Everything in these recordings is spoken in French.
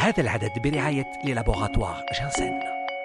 هذا العدد برعاية للابوغاتوار جانسن.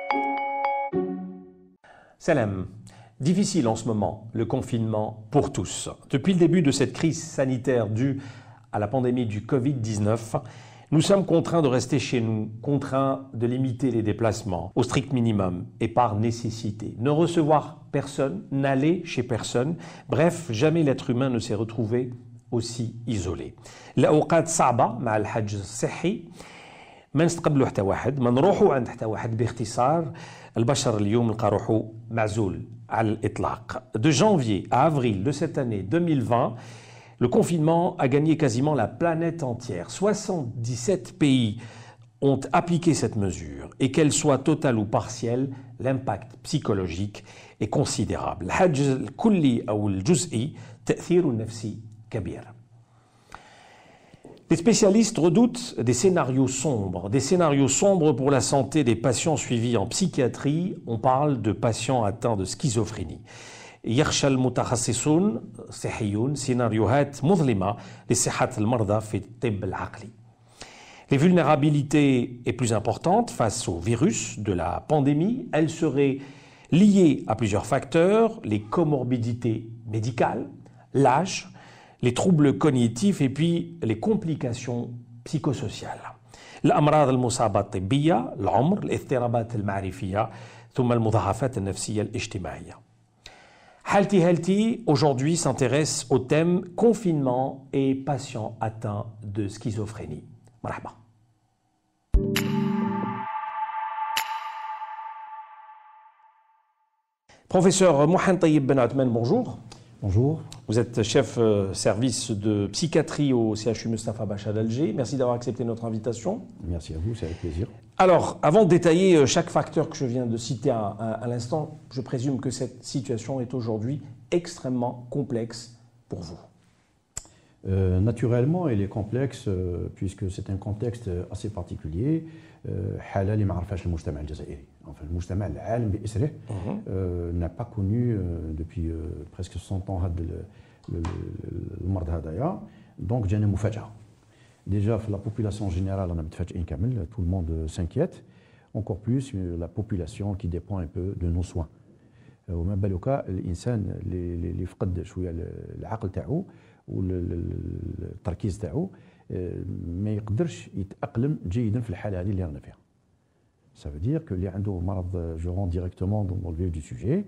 Salam. Difficile en ce moment, le confinement pour tous. Depuis le début de cette crise sanitaire due à la pandémie du Covid-19, nous sommes contraints de rester chez nous, contraints de limiter les déplacements au strict minimum et par nécessité. Ne recevoir personne, n'aller chez personne. Bref, jamais l'être humain ne s'est retrouvé aussi isolé. الأوقات صعبة مع الحجر الصحي. ما نستقبلوا حتى واحد، ما نروحوا عند حتى واحد. باختصار البشر اليوم لقى روحو معزول على الإطلاق. De janvier à avril de cette année 2020, le confinement a gagné quasiment la planète entière. 77 pays ont appliqué cette mesure et qu'elle soit totale ou partielle, l'impact psychologique est considérable. الحجر الكلي أو الجزئي تأثير نفسي كبير. Les spécialistes redoutent des scénarios sombres pour la santé des patients suivis en psychiatrie. On parle de patients atteints de schizophrénie. يخشى المتخصصون الصحيون سيناريوهات مظلمة لصحة المرضى في الطب العقلي. Les vulnérabilités est plus importante face au virus de la pandémie. Elle serait liée à plusieurs facteurs, les comorbidités médicales, l'âge, les troubles cognitifs et puis les complications psychosociales. الأمراض المصابة الطبية، العمر، الاضطرابات المعرفية ثم المضاعفات النفسية الاجتماعية. Halti Halti aujourd'hui s'intéresse au thème confinement et patients atteints de schizophrénie. Marhaba. Professeur Mohamed Tayyib Ben Othman, bonjour. Bonjour. Vous êtes chef service de psychiatrie au CHU Mustapha Bacha d'Alger. Merci d'avoir accepté notre invitation. Merci à vous, c'est avec plaisir. Alors, avant de détailler chaque facteur que je viens de citer à l'instant, je présume que cette situation est aujourd'hui extrêmement complexe pour vous. Naturellement, elle est complexe puisque c'est un contexte assez particulier. حالة اللي ما عرفهاش المجتمع الجزائري. Enfin, le مجتمع العالم بأسره n'a pas connu depuis presque 100 ans هذا المرض هذايا. Donc جانا مفاجأة. Déjà, la population générale, on a متفاجئين كامل. Tout le monde s'inquiète. Encore plus la population qui dépend un peu de nos soins. وما بالك الإنسان اللي فقد شوية العقل تاعو والتركيز تاعو ما يقدرش يتأقلم جيدا في الحالة هذه اللي رانا فيها. Ça veut dire que اللي عنده مرض je rentre directement dans le vif du sujet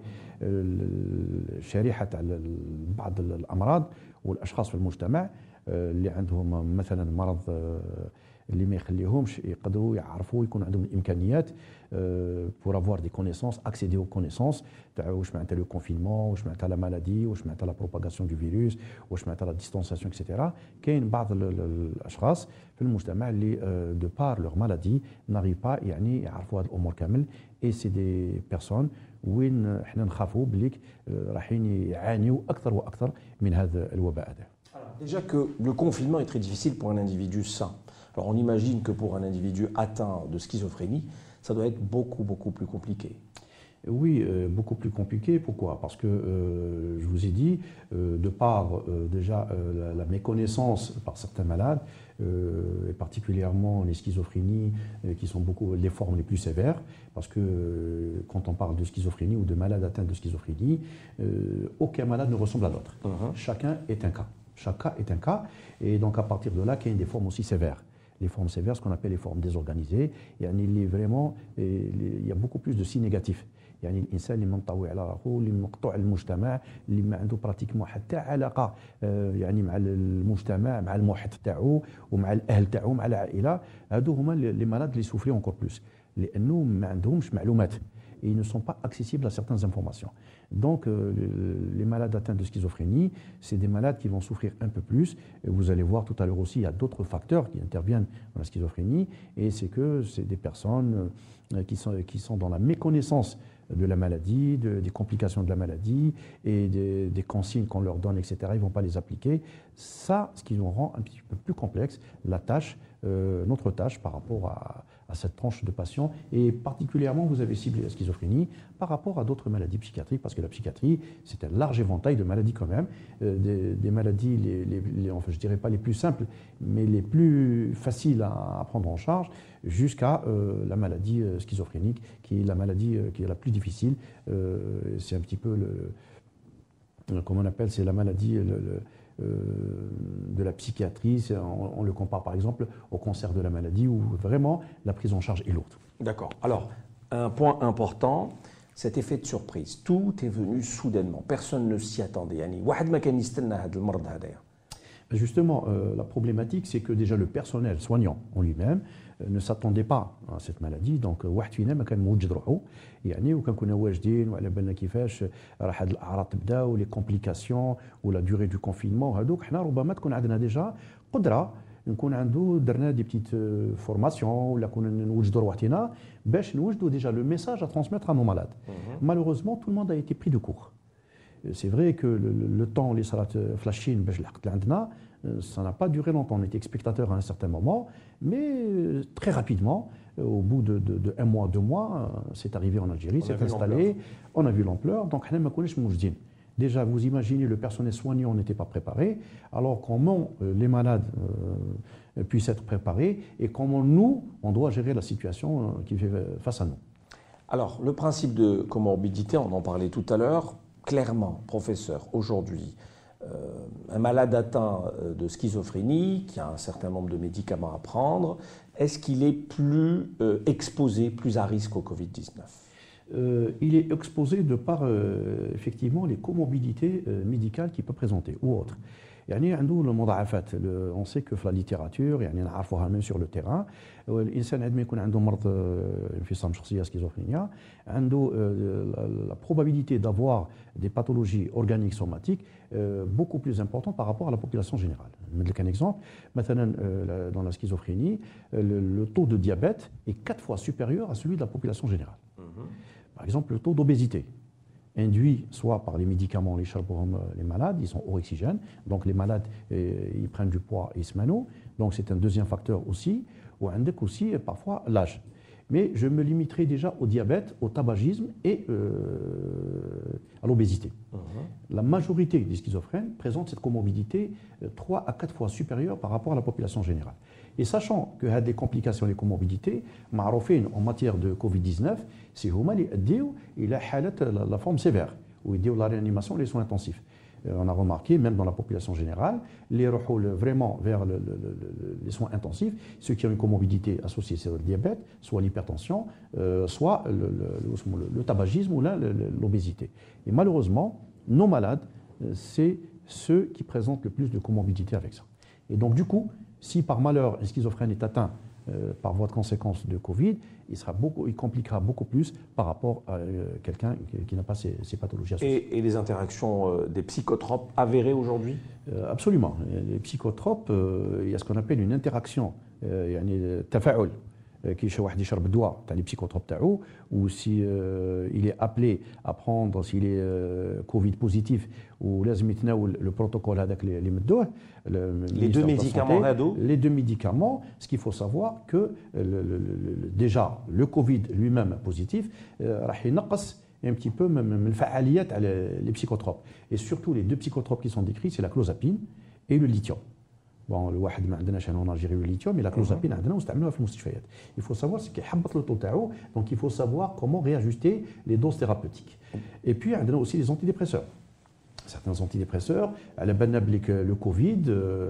شريحة على بعض الأمراض والأشخاص في المجتمع اللي عندهم مثلا مرض اللي ما يخليهمش يقدروا يعرفوا يكون عندهم الامكانيات pour avoir des connaissances, accéder aux connaissances تاع واش معناتها لو كونفينمون، واش معناتها لا مالادي، واش معناتها لا بروباغاسيون دو فيروس، واش معناتها لا ديستانسياسيون اكسيتيرا. كاين بعض الاشخاص في المجتمع اللي دو بار لور مالادي ناريف با يعني يعرفوا هذه الامور كامل. اي سي دي بيرسون وين احنا نخافوا بليك رايحين يعانيوا اكثر واكثر من هذا الوباء هذا. Déjà que le confinement est très difficile pour un individu sain. Alors on imagine que pour un individu atteint de schizophrénie, ça doit être beaucoup plus compliqué. Oui, beaucoup plus compliqué. Pourquoi? Parce que, je vous ai dit, de par déjà la méconnaissance par certains malades, et particulièrement les schizophrénies, qui sont beaucoup les formes les plus sévères, parce que quand on parle de schizophrénie ou de malades atteints de schizophrénie, aucun malade ne ressemble à l'autre. Chacun est un cas. Chaque cas est un cas, et donc à partir de là, il y a des formes aussi sévères. Les formes sévères, ce qu'on appelle les formes désorganisées, il y a beaucoup plus de signes négatifs. يعني الانسان اللي منطوي على روحه، اللي مقطوع المجتمع، اللي ما عنده براتيكمون حتى علاقه يعني مع المجتمع، مع المحيط تاعو ومع الاهل تاعو مع العائله، هادو هما لي مالاد اللي سوفري اونكور بلوس لانه ما عندهمش معلومات. Ils ne sont pas accessibles à certaines informations. Donc, les malades atteints de schizophrénie, c'est des malades qui vont souffrir un peu plus. Et vous allez voir tout à l'heure aussi, il y a d'autres facteurs qui interviennent dans la schizophrénie. Et c'est que c'est des personnes qui sont dans la méconnaissance de la maladie, des complications de la maladie et des consignes qu'on leur donne, etc. Ils ne vont pas les appliquer. Ça, ce qui nous rend un petit peu plus complexe la tâche, notre tâche par rapport à cette tranche de patients. Et particulièrement, vous avez ciblé la schizophrénie par rapport à d'autres maladies psychiatriques, parce que la psychiatrie, c'est un large éventail de maladies quand même, des maladies, enfin, je ne dirais pas les plus simples, mais les plus faciles à prendre en charge, jusqu'à la maladie schizophrénique, qui est la maladie qui est la plus difficile. C'est un petit peu comment on appelle, c'est la maladie de la psychiatrie. On le compare par exemple au cancer de la maladie, où vraiment la prise en charge est lourde. D'accord. Alors, un point important, cet effet de surprise. Tout est venu soudainement. Personne ne s'y attendait. Yani, واحد ما كان يستنى هذا المرض هذايا. Justement, la problématique, c'est que déjà le personnel soignant en lui-même ne s'attendait pas à cette maladie. Donc, واحد فينا ما كان موجد روحه يعني وكنكونوا واجدين وعلى بالنا كيفاش راح هاد الاعراض تبدا ولي كومبليكاسيون ولا دوري دو كونفينمون وهذوك حنا ربما تكون عندنا ديجا قدره نكون عنده درنا دي بتيت فورماسيون ولا كنا نوجدوا روحتنا باش نوجدوا ديجا لو ميساج ا ترانسميتر ا نو مالاد. Malheureusement, tout le monde a été pris de court. C'est vrai que le temps, les salats flashines, ça n'a pas duré longtemps. On était spectateurs à un certain moment, mais très rapidement, au bout de 1 mois, 2 mois, c'est arrivé en Algérie, c'est installé, on a vu l'ampleur. Donc, déjà, vous imaginez, le personnel soignant n'était pas préparé. Alors, comment les malades puissent être préparés et comment nous, on doit gérer la situation qui fait face à nous. Alors, le principe de comorbidité, on en parlait tout à l'heure. Clairement, professeur, aujourd'hui, un malade atteint de schizophrénie, qui a un certain nombre de médicaments à prendre, est-ce qu'il est plus exposé, plus à risque au Covid-19 ? Il est exposé de par effectivement les comorbidités médicales qu'il peut présenter ou autres. يعني عنده المضاعفات. On sait que في la littérature يعني نعرفوها même sur le terrain. الإنسان عندما يكون عنده مرض انفصام شخصية سكيزوفرينيا عنده la probabilité d'avoir des pathologies organiques somatiques beaucoup plus importante par rapport à la population générale. نمد لك un exemple. مثلا dans la schizophrénie, le taux de diabète est 4 fois supérieur à celui de la population générale. Par exemple, le taux d'obésité induit soit par les médicaments, les malades, ils sont orexigènes, donc les malades ils prennent du poids et ils se manouent, donc c'est un deuxième facteur aussi, ou aussi parfois l'âge. Mais je me limiterai déjà au diabète, au tabagisme et à l'obésité. La majorité des schizophrènes présentent cette comorbidité 3 à 4 fois supérieure par rapport à la population générale. Et sachant que les complications, les comorbidités, en matière de Covid-19, c'est la forme sévère, où il y a la réanimation et les soins intensifs. On a remarqué, même dans la population générale, les rôles vraiment vers les soins intensifs, ceux qui ont une comorbidité associée, c'est le diabète, soit l'hypertension, soit le tabagisme ou l'obésité. Et malheureusement, nos malades, c'est ceux qui présentent le plus de comorbidité avec ça. Et donc du coup, si par malheur un schizophrène est atteint par voie de conséquence de Covid, il compliquera beaucoup plus par rapport à quelqu'un qui n'a pas ces pathologies associées. Et les interactions des psychotropes avérées aujourd'hui ? Absolument. Les psychotropes, il y a ce qu'on appelle une interaction, تفاعل. كي شي واحد يشرب الدواء تاع لي بسيكوتروب تاعو ou si il est appelé à prendre s'il est Covid positif ولازم يتناول le protocole هذاك اللي مدوه les deux médicaments هادو. Les deux médicaments, ce qu'il faut savoir que déjà le Covid lui-même positif راح ينقص un petit peu من الفعاليات على les psychotropes, et surtout les deux psychotropes qui sont décrits, c'est la clozapine et le lithium. Bon, الواحد ما عندناش هنا en Algérie le lithium, mais la clozapine عندنا ونستعملوها في المستشفيات. Il faut savoir ce qui حبط le taux تاعو, donc il faut savoir comment réajuster les doses thérapeutiques. Et puis عندنا aussi les antidépresseurs. Certains antidépresseurs, à la banable que le Covid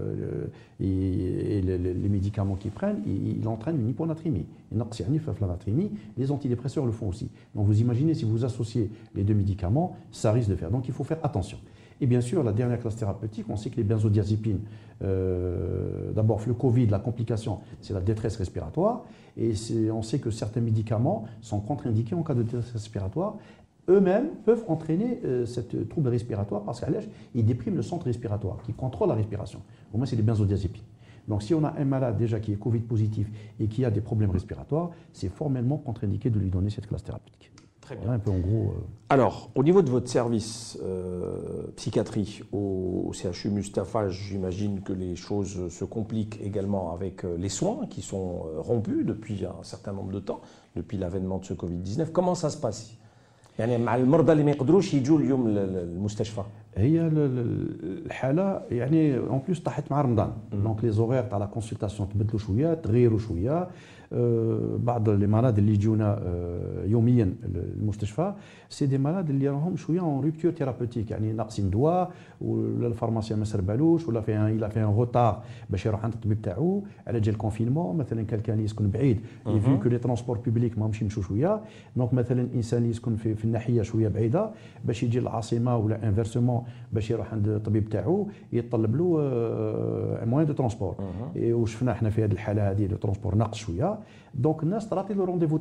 et les médicaments qu'ils prennent, il entraîne une hyponatrémie. Les antidépresseurs le font aussi. Donc vous imaginez, si vous associez les deux médicaments, ça risque de faire. Donc il faut faire attention. Et bien sûr, la dernière classe thérapeutique, on sait que les benzodiazépines, d'abord le Covid, la complication, c'est la détresse respiratoire. Et on sait que certains médicaments sont contre-indiqués en cas de détresse respiratoire. Eux-mêmes peuvent entraîner cette trouble respiratoire parce qu'ils dépriment le centre respiratoire qui contrôle la respiration. Au moins, c'est les benzodiazépines. Donc, si on a un malade déjà qui est Covid positif et qui a des problèmes respiratoires, c'est formellement contre-indiqué de lui donner cette classe thérapeutique. Très bien. Voilà un peu en gros. Alors, au niveau de votre service psychiatrie au CHU Mustapha, j'imagine que les choses se compliquent également avec les soins qui sont rompus depuis un certain nombre de temps, depuis l'avènement de ce Covid-19. Comment ça se passe يعني مع المرضى اللي ما يقدروش يجوا اليوم للمستشفى. هي الحاله يعني اون بليس طاحت مع رمضان دونك لي زوغير تاع لا كونسلطاسيون تبدلوا شويه تغيروا شويه بعض لي مالاد اللي يجونا يوميا المستشفى سي دي مالاد اللي راهم شويه اون ريبتور ثيرابوتيك يعني ناقصين دواء ولا الفارماسيان ما سربالوش ولا فيها غوطار باش يروح عند الطبيب تاعو على جال الكونفينمون مثلا كان يسكن بعيد فيو كو لي ترونسبور بوبليك ماهمش يمشوا شويه دونك مثلا انسان يسكن في الناحيه شويه بعيده باش يجي للعاصمه ولا انفيرسومون باش يروح عند الطبيب تاعو يطلب له موان دو ترونسبور وشفنا احنا في هذه الحاله هذه لو ترونسبور ناقص شويه دونك الناس تعطي له رونديفو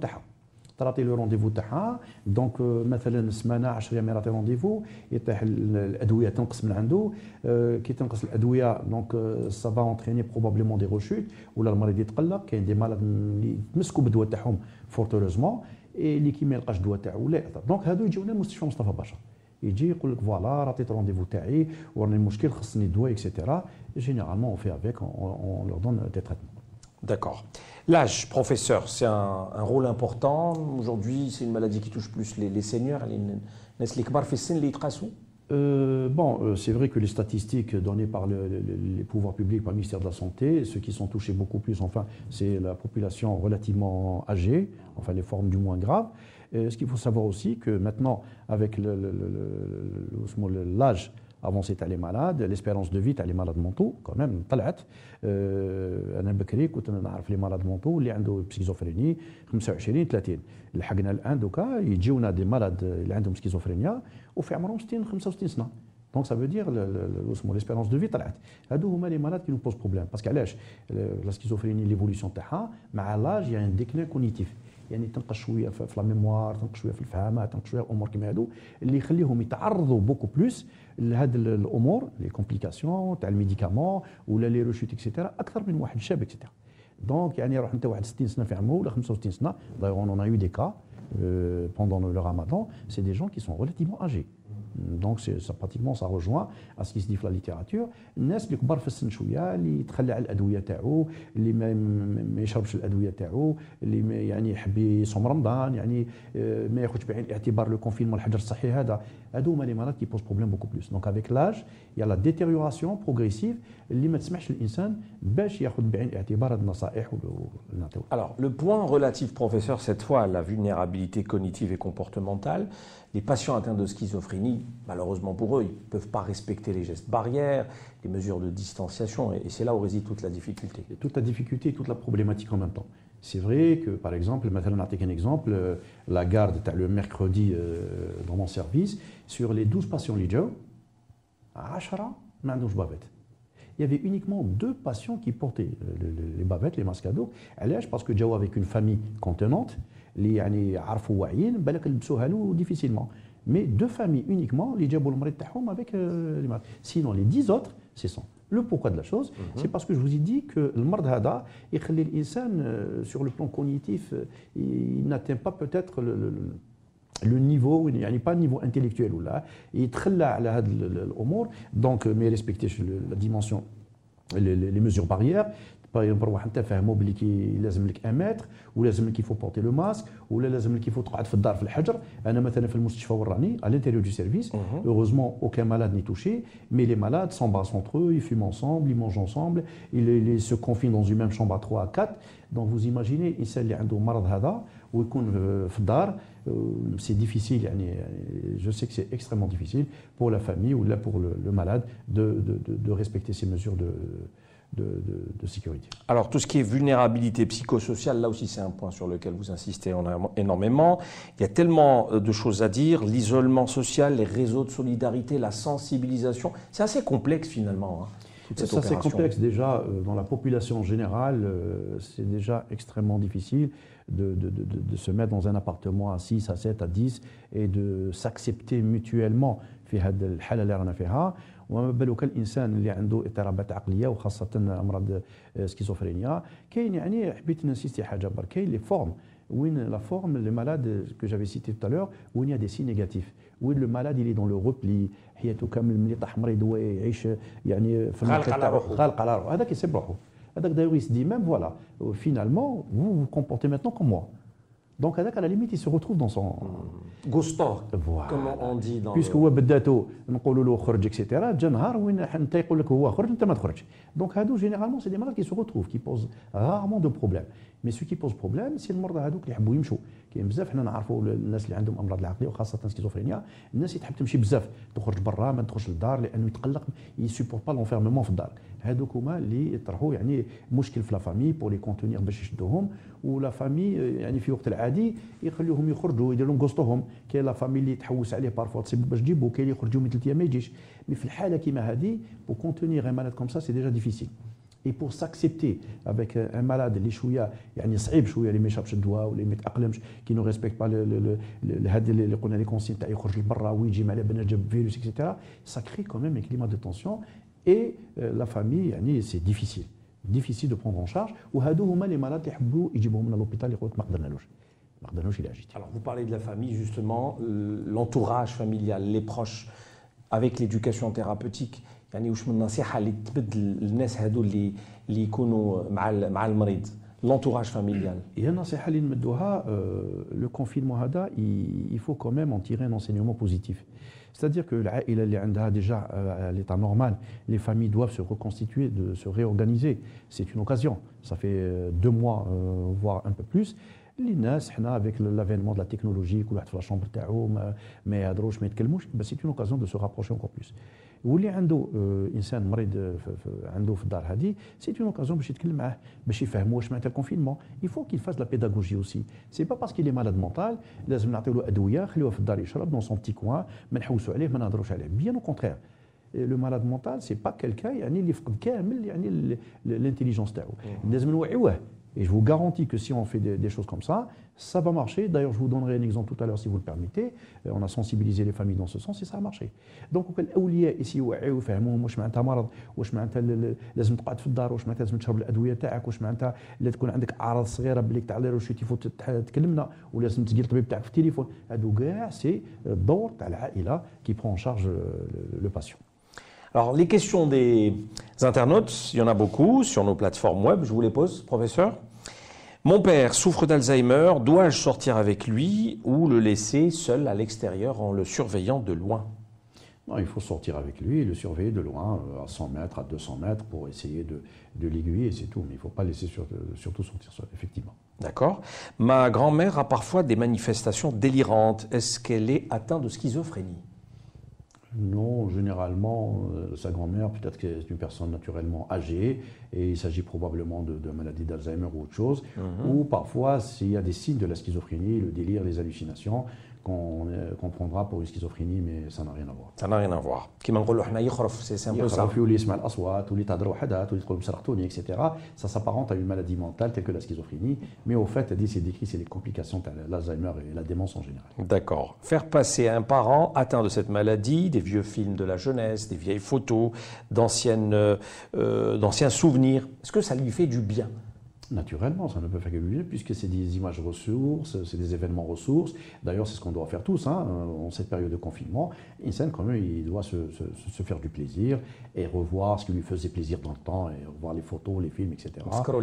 تاعها دونك مثلا سمانه 10 ايام يعطي رونديفو يطيح الادويه تنقص من عنده كي تنقص الادويه دونك سافا اونتريني بروبابليمون دي روشوت ولا المريض يتقلق كاين دي مالاد اللي يتمسكوا بالدواء تاعهم فورتوريزمون اللي كي ما يلقاش الدواء تاعو لا يأثر دونك هادو يجيونا المستشفى مصطفى باشا يجي يقول لك فوالا عطيت رونديفو تاعي وراني المشكل خصني الدواء اكسيتيرا جينيرالمون اون في افيك اون لور دون دي تريتمون. D'accord. L'âge, professeur, c'est un rôle important. Aujourd'hui, c'est une maladie qui touche plus les seniors, les كبار في السن اللي يتقاسوا. C'est vrai que les statistiques données par les pouvoirs publics, par le ministère de la Santé, ceux qui sont touchés beaucoup plus, enfin, c'est la population relativement âgée, enfin les formes du moins graves. Ce qu'il faut savoir aussi que maintenant, avec l'âge avancé تاع les malades, l'espérance de vie تاع les malades mentaux quand même طلعت. انا بكري كنت نعرف لي malades mentaux اللي عنده سكيزوفريني 25 30 لحقنا الان دوكا يجيونا دي malades اللي عندهم سكيزوفرينيا وفي عمرهم 60 65 سنه. دونك سا فو دير ليسبيرونس دو في طلعت. هادو هما لي مالاد كي نو بوز بروبليم باسكو علاش لا سكيزوفريني ليفوليسيون تاعها مع لاج يعني ان ديكلين كونيتيف يعني تنقص شويه في لا ميموار تنقص شويه في الفهامه تنقص شويه الامور كيما هادو اللي يخليهم يتعرضوا بوكو بلوس لهاد الامور لي كومبليكاسيون تاع الميديكامون ولا لي روشوت اكسيتيرا اكثر من واحد شاب اكسيتيرا. دونك يعني روح انت واحد 60 سنه في عمره ولا 65 سنه دايوغ اون يو دي كا pendant le ramadan, c'est des gens qui sont relativement âgés. Donc pratiquement ça rejoint à ce qui se dit dans la littérature. الناس اللي كبار في السن شويه اللي يتخلى على الادويه تاعو اللي ما يشربش الادويه تاعو اللي يعني يحب يصوم رمضان يعني ما ياخذش بعين الاعتبار لو كونفينمون الحجر الصحي هذا هادو هما لي مالاد كي بوز بروبليم بوكو بلوس. دونك افيك لاج يا لا ديتيريوراسيون بروغريسيف اللي ما تسمحش للانسان باش ياخذ بعين الاعتبار هاد النصائح اللي نعطيو. Alors le point relatif professeur cette fois à la vulnérabilité cognitive et comportementale. Les patients atteints de schizophrénie, malheureusement pour eux, ils ne peuvent pas respecter les gestes barrières, les mesures de distanciation, et c'est là où réside toute la difficulté. Toute la difficulté et toute la problématique en même temps. C'est vrai que, par exemple, maintenant, on a un exemple, la garde, le mercredi dans mon service, sur les 12 patients lidjo, 10 ما عندهمش bavette. Il y avait uniquement 2 patients qui portaient les bavettes, les masques à dos. Parce que جاوا avec une famille contenante, اللي يعني عرفوا واعيين بالك لبسوها له difficilement. Mais 2 familles uniquement اللي جابوا المريض تاعهم avec les masques. Sinon les 10 autres, c'est sans. Le pourquoi de la chose, c'est parce que je vous ai dit que المرض هذا يخلي الانسان sur le plan cognitif, il n'atteint pas peut-être le niveau يعني pas niveau intellectuel ولا يتخلى على هذه الامور دونك ما يريسبكتيش لا ديمونسيون لي ميزور باريير. نروح انت فاهموا بلي كي لازم لك 1 متر ولازم لك يفو بورتي لو ماسك ولا لازم لك يفو تقعد في الدار في الحجر. انا مثلا في المستشفى وراني à l'intérieur du service heureusement aucun malade n'est touché mais les malades s'embrassent entre eux, ils fument ensemble, ils mangent ensemble, ils se confinent dans une même chambre à 3 à 4. donc vous imaginez الانسان اللي عنده مرض هذا ويكون في الدار c'est difficile يعني je sais que c'est extrêmement difficile pour la famille ou là pour le malade de respecter ces mesures de sécurité. Alors tout ce qui est vulnérabilité psychosociale, là aussi c'est un point sur lequel vous insistez énormément. Il y a tellement de choses à dire, l'isolement social, les réseaux de solidarité, la sensibilisation, c'est assez complexe finalement. Hein, ça c'est complexe déjà, dans la population générale, c'est déjà extrêmement difficile de se mettre dans un appartement à 6, à 7, à 10 et de s'accepter mutuellement في هذه الحالة اللي رانا فيها. وما بالك الانسان اللي عنده اضطرابات عقليه وخاصه امراض سكيزوفرينيا. كاين يعني حبيت نسيستي حاجه برك كاين لي فورم où la forme, le malade que j'avais cité tout à l'heure, où il y a des signes négatifs, où le malade il est dans le repli, حياته كامل ملي طاح مريض هو يعيش يعني في غالق على روحه. غالق على روحه هذاك يسيب روحه هذاك d'ailleurs il se dit même voilà finalement vous vous comportez maintenant comme moi. Donc هذاك à la limite il se retrouve dans son Gusto, Voilà. comme on dit dans puisque هو بداتو نقولوا له خرج اكسيتيرا جا نهار وين انت يقول لك هو خرج انت ما تخرجش. Donc هادو généralement c'est des malades qui se retrouvent qui posent rarement de problème. Mais ce qui pose problème c'est المرضى هذوك اللي يحبوا يمشوا. كاين بزاف حنا نعرفوا الناس اللي عندهم امراض العقليه وخاصه سكيزوفرينيا الناس اللي تحب تمشي بزاف تخرج برا ما تخرج للدار لانه يتقلق يسيبورت با لونفيرممون في الدار. هذوك هما اللي يطرحوا يعني مشكل في لا فامي بور لي كونتونير باش يشدوهم ولا فامي يعني في وقت العادي يخليوهم يخرجوا يديروا لهم قسطهم. كاين لا فامي اللي تحوس عليه بارفوا تصيب باش تجيبو كاين اللي يخرجوا من 3 ايام ما يجيش. مي في الحاله كيما هذه بور كونتونير ان مالاد كوم سا سي ديجا ديفيسيل. Et pour s'accepter avec un malade اللي شويه يعني صعيب شويه اللي ما يشربش الدواء ولا ما يتاقلمش كي نو ريسبكت با هذا اللي قلنا لي كونسين تاع يخرج لبرا ويجي مع بالنا جاب فيروس اكسيتيرا سا كري كوميم ان كليما دو تونسيون اي لا فامي يعني سي ديفيسيل ديفيسيل دو بروندر ان شارج وهادو هما لي مالاد اللي يحبوا يجيبوهم من لوبيتال يقول لك ما قدرناش الى جيتي. Alors vous parlez de la famille justement, l'entourage familial, les proches, avec l'éducation thérapeutique. يعني واش من نصيحه اللي تبدل الناس هادو اللي يكونوا مع المريض l'entourage familial. هي النصيحه اللي نمدوها لو كونفينمون هذا il faut quand même en tirer un enseignement positif. C'est-à-dire que العائله اللي عندها déjà à l'état normal, les familles doivent se reconstituer, de se réorganiser. C'est une occasion. Ça fait 2 mois voire un peu plus. اللي الناس حنا افيك لافينمون دو لا تكنولوجي كل واحد في لاشومبر تاعو ما يهضروش ما يتكلموش بس سي اون اوكازيون دو سو رابروشي انكور بلوس. واللي عنده انسان مريض عنده في الدار هذه سي اون اوكازيون باش يتكلم معاه باش يفهموا واش معناتها الكونفينمون. يفو كيل فاز لا بيداغوجي اوسي. سي با باسكو لي مالاد مونتال لازم نعطيو له ادويه خليوه في الدار يشرب دون سون بتي كوان ما نحوسوا عليه ما نهضروش عليه. بيان او كونترير لو مالاد مونتال سي با كيلكان يعني اللي فقد كامل يعني الانتيليجونس تاعو. لازم نوعيوه. Et je vous garantis que si on fait des choses comme ça va marcher. D'ailleurs, je vous donnerai un exemple tout à l'heure si vous le permettez. On a sensibilisé les familles dans ce sens et ça a marché. Donc, الأولياء يوعيوا يفهموهم واش معناتها مرض، واش معناتها لازم تقعد في الدار، واش معناتها لازم تشرب الأدوية تاعك، واش معناتها لا تكون عندك أعراض صغيرة باللي تاع لي تيفو تكلمنا ولازم تسقي الطبيب تاعك في التليفون. هادو كاع سي الدور تاع العائلة qui prend en charge le patient. Alors, les questions des internautes, il y en a beaucoup sur nos plateformes web. Je vous les pose, professeur. Mon père souffre d'Alzheimer. Dois-je sortir avec lui ou le laisser seul à l'extérieur en le surveillant de loin? Non, il faut sortir avec lui et le surveiller de loin, à 100 mètres, à 200 mètres, pour essayer de l'aiguiller, c'est tout. Mais il ne faut pas laisser surtout sortir seul, effectivement. D'accord. Ma grand-mère a parfois des manifestations délirantes. Est-ce qu'elle est atteinte de schizophrénie? Non, généralement, sa grand-mère, peut-être que c'est une personne naturellement âgée et il s'agit probablement de maladie d'Alzheimer ou autre chose, ou parfois s'il y a des signes de la schizophrénie, le délire, les hallucinations, qu'on prendra pour une schizophrénie, mais ça n'a rien à voir. Ça n'a rien à voir. كيما نقولوا حنا يخرف, c'est un peu ça. يخرف يولي يسمع الأصوات واللي تهضر وحدها واللي تقول بسرحتوني, etc. Ça s'apparente à une maladie mentale telle que la schizophrénie, mais au fait, c'est décrit, c'est les complications de l'Alzheimer et la démence en général. D'accord. Faire passer à un parent atteint de cette maladie des vieux films de la jeunesse, des vieilles photos, d'anciens souvenirs, est-ce que ça lui fait du bien? Naturellement, ça ne peut faire que lui, puisque c'est des images ressources, c'est des événements ressources. D'ailleurs, c'est ce qu'on doit faire tous en cette période de confinement. Insan, quand même, il doit se faire du plaisir et revoir ce qui lui faisait plaisir dans le temps et revoir les photos, les films, etc.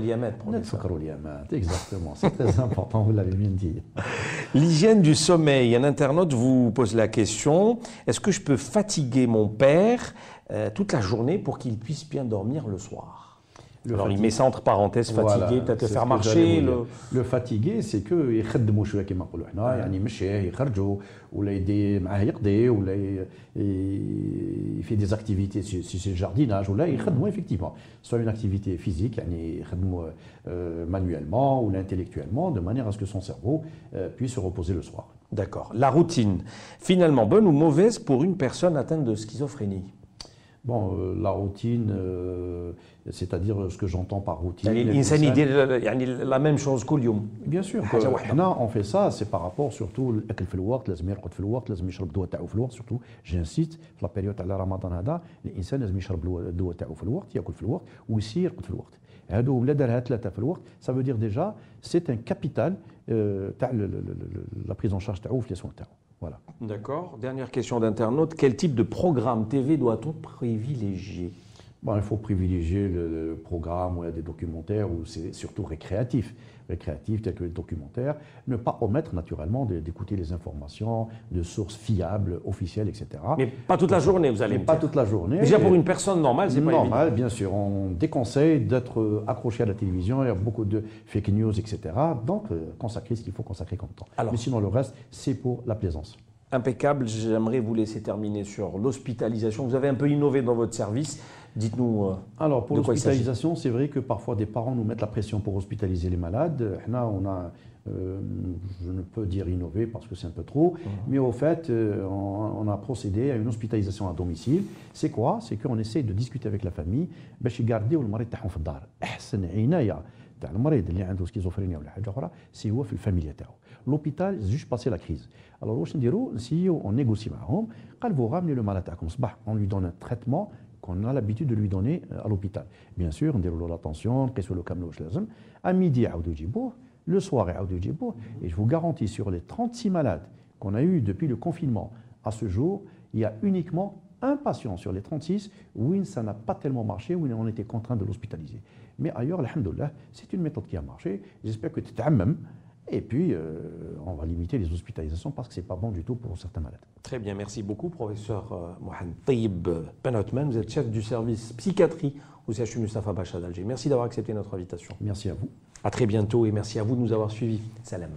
Exactement, c'est très important, vous l'avez bien dit. L'hygiène du sommeil. Un internaute vous pose la question, est-ce que je peux fatiguer mon père toute la journée pour qu'il puisse bien dormir le soir? Alors il met ça entre parenthèses, fatigué, voilà, peut-être le faire marcher. Le fatigué, c'est que يخدموا شويه كما نقولوا حنا, يعني يمشيه يخرجوا ولا يدي معاه يقضي ولا il fait des activités si c'est le jardinage ولا يخدموا effectivement. Soit une activité physique, يعني يخدموا manuellement ou intellectuellement de manière à ce que son cerveau puisse se reposer le soir. D'accord. La routine, finalement bonne ou mauvaise pour une personne atteinte de schizophrénie? Bon, la routine, c'est-à-dire ce que j'entends par routine. الإنسان يدير يعني la même chose كل يوم. Bien sûr. Maintenant, on fait ça, c'est par rapport surtout الأكل في الوقت, لازم يرقد في الوقت, لازم يشرب الدواء تاعو في الوقت, surtout j'insiste في la période تاع رمضان هذا الإنسان لازم يشرب الدواء تاعو في الوقت, ياكل في الوقت ويسير يرقد في الوقت. هادو لا دارها 3 في الوقت ça veut dire déjà c'est un capital تاع la prise en charge تاعو في les soins تاعو. Voilà. D'accord. Dernière question d'internaute. Quel type de programme TV doit-on privilégier? Bon, il faut privilégier le programme où il y a des documentaires où c'est surtout récréatif. Récréatif, tel que les documentaires. Ne pas omettre naturellement d'écouter les informations de sources fiables, officielles, etc. Mais pas toute la journée, vous allez me dire. Pas toute la journée. Déjà pour une personne normale, c'est pas évident. Normal, bien sûr. On déconseille d'être accroché à la télévision. Il y a beaucoup de fake news, etc. Donc, consacrer ce qu'il faut consacrer comme temps. Alors, mais sinon, le reste, c'est pour la plaisance. Impeccable. J'aimerais vous laisser terminer sur l'hospitalisation. Vous avez un peu innové dans votre service. Dites-nous. Alors, pour de quoi il s'agit. l'hospitalisation, c'est vrai que parfois des parents nous mettent la pression pour hospitaliser les malades. Là, on a, je ne peux dire innover parce que c'est un peu trop, mais au fait, on a procédé à une hospitalisation à domicile. C'est quoi? C'est qu'on essaie de discuter avec la famille باش يقارديو المريض تاعهم في الدار. أحسن عناية تاع المريض اللي عنده سكيزوفرينيا ولا حاجة أخرى سي هو في الفاميليا تاعو. L'hôpital, juste passer la crise. Alors, واش نديرو؟ نسيو on négocie معهم. قال vous ramenez le malade تاعكم صباح, on lui donne un traitement qu'on a l'habitude de lui donner à l'hôpital. Bien sûr, on déroule la tension, نقيسوا له كامل واش لازم. À midi, يعاودوا يجيبوه. Le soir, يعاودوا يجيبوه. Et je vous garantis, sur les 36 malades qu'on a eu depuis le confinement à ce jour, il y a uniquement un patient sur les 36 où ça n'a pas tellement marché, où on était contraint de l'hospitaliser. Mais ailleurs, alhamdoulilah, c'est une méthode qui a marché. J'espère que tu t'amènes. Et puis, on va limiter les hospitalisations parce que ce n'est pas bon du tout pour certains malades. Très bien, merci beaucoup, professeur Mohamed Taïb Ben Othman. Vous êtes chef du service psychiatrie au CHU Mustapha Bacha d'Alger. Merci d'avoir accepté notre invitation. Merci à vous. À très bientôt et merci à vous de nous avoir suivis. Salam.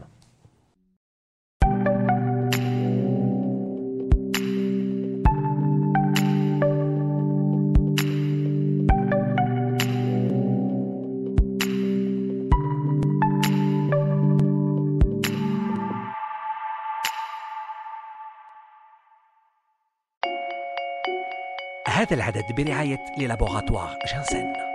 هذا العدد برعاية للابوغاتوار جانسن.